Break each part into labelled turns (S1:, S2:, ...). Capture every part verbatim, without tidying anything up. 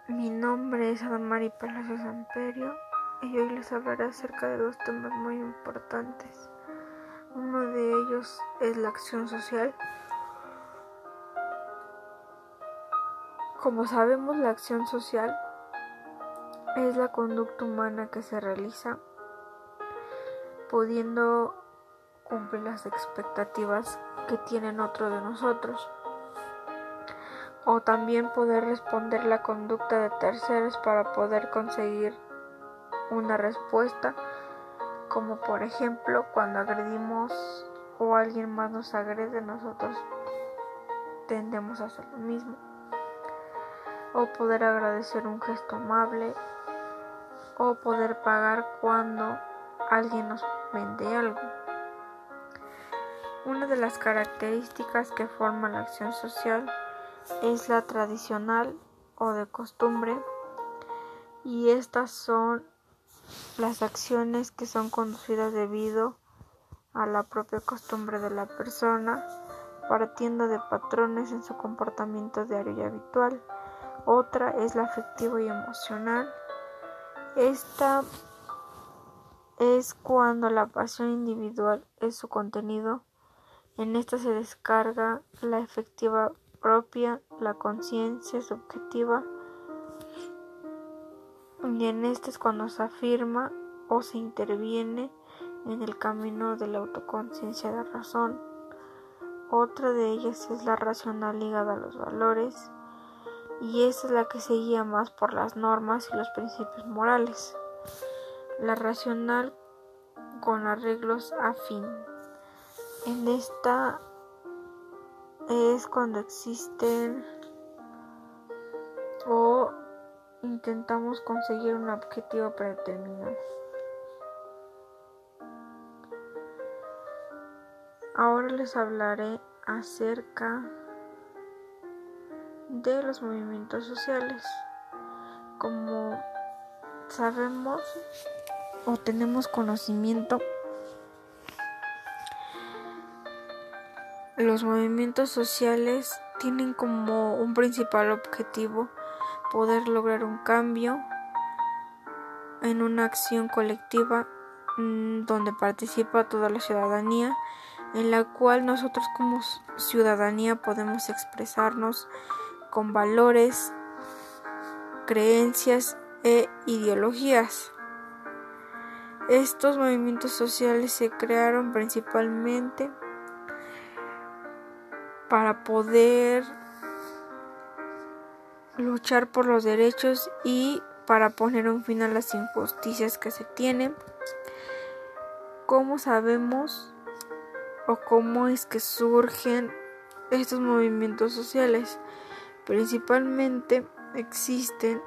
S1: Mi nombre es Adamari Palacios Amperio y hoy les hablaré acerca de dos temas muy importantes. Uno de ellos es la acción social. Como sabemos, la acción social es la conducta humana que se realiza pudiendo cumplir las expectativas que tienen otros de nosotros, o también poder responder la conducta de terceros para poder conseguir una respuesta, como por ejemplo cuando agredimos o alguien más nos agrede, nosotros tendemos a hacer lo mismo, o poder agradecer un gesto amable, o poder pagar cuando alguien nos vende algo. Una de las características que forman la acción social es la tradicional o de costumbre, y estas son las acciones que son conducidas debido a la propia costumbre de la persona, partiendo de patrones en su comportamiento diario y habitual. Otra es la afectiva y emocional. Esta es cuando la pasión individual es su contenido. En esta se descarga la afectiva propia, la conciencia subjetiva, y en esta es cuando se afirma o se interviene en el camino de la autoconciencia de razón. Otra de ellas es la racional ligada a los valores, y esta es la que se guía más por las normas y los principios morales. La racional con arreglos a fin. En esta es cuando existen o intentamos conseguir un objetivo predeterminado. Ahora les hablaré acerca de los movimientos sociales. Como sabemos o tenemos conocimiento, los movimientos sociales tienen como un principal objetivo poder lograr un cambio en una acción colectiva mmm, donde participa toda la ciudadanía, en la cual nosotros como ciudadanía podemos expresarnos con valores, creencias e ideologías. Estos movimientos sociales se crearon principalmente para poder luchar por los derechos y para poner un fin a las injusticias que se tienen. ¿Cómo sabemos o cómo es que surgen estos movimientos sociales? Principalmente existen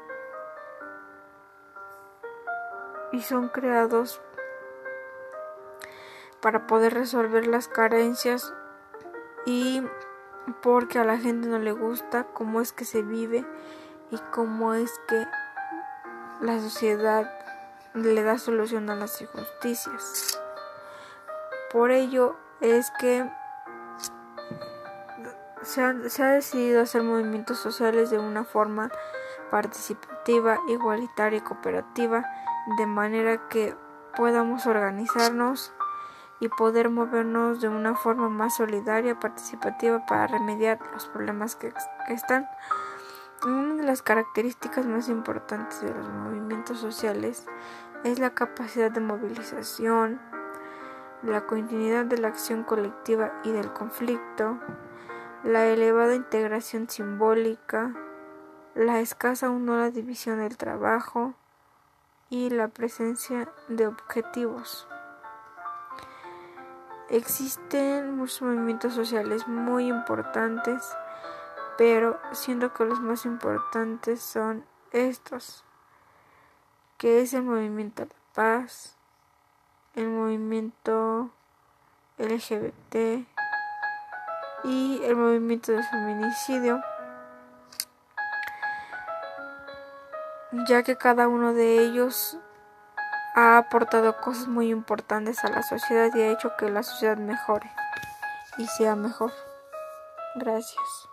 S1: y son creados para poder resolver las carencias, y porque a la gente no le gusta cómo es que se vive y cómo es que la sociedad le da solución a las injusticias. Por ello es que se ha, se ha decidido hacer movimientos sociales de una forma participativa, igualitaria y cooperativa, de manera que podamos organizarnos y poder movernos de una forma más solidaria, participativa, para remediar los problemas que, que están. Una de las características más importantes de los movimientos sociales es la capacidad de movilización, la continuidad de la acción colectiva y del conflicto, la elevada integración simbólica, la escasa o nula división del trabajo y la presencia de objetivos. Existen muchos movimientos sociales muy importantes, pero siento que los más importantes son estos, que es el movimiento de la paz, el movimiento L G B T y el movimiento del feminicidio, ya que cada uno de ellos ha aportado cosas muy importantes a la sociedad y ha hecho que la sociedad mejore y sea mejor. Gracias.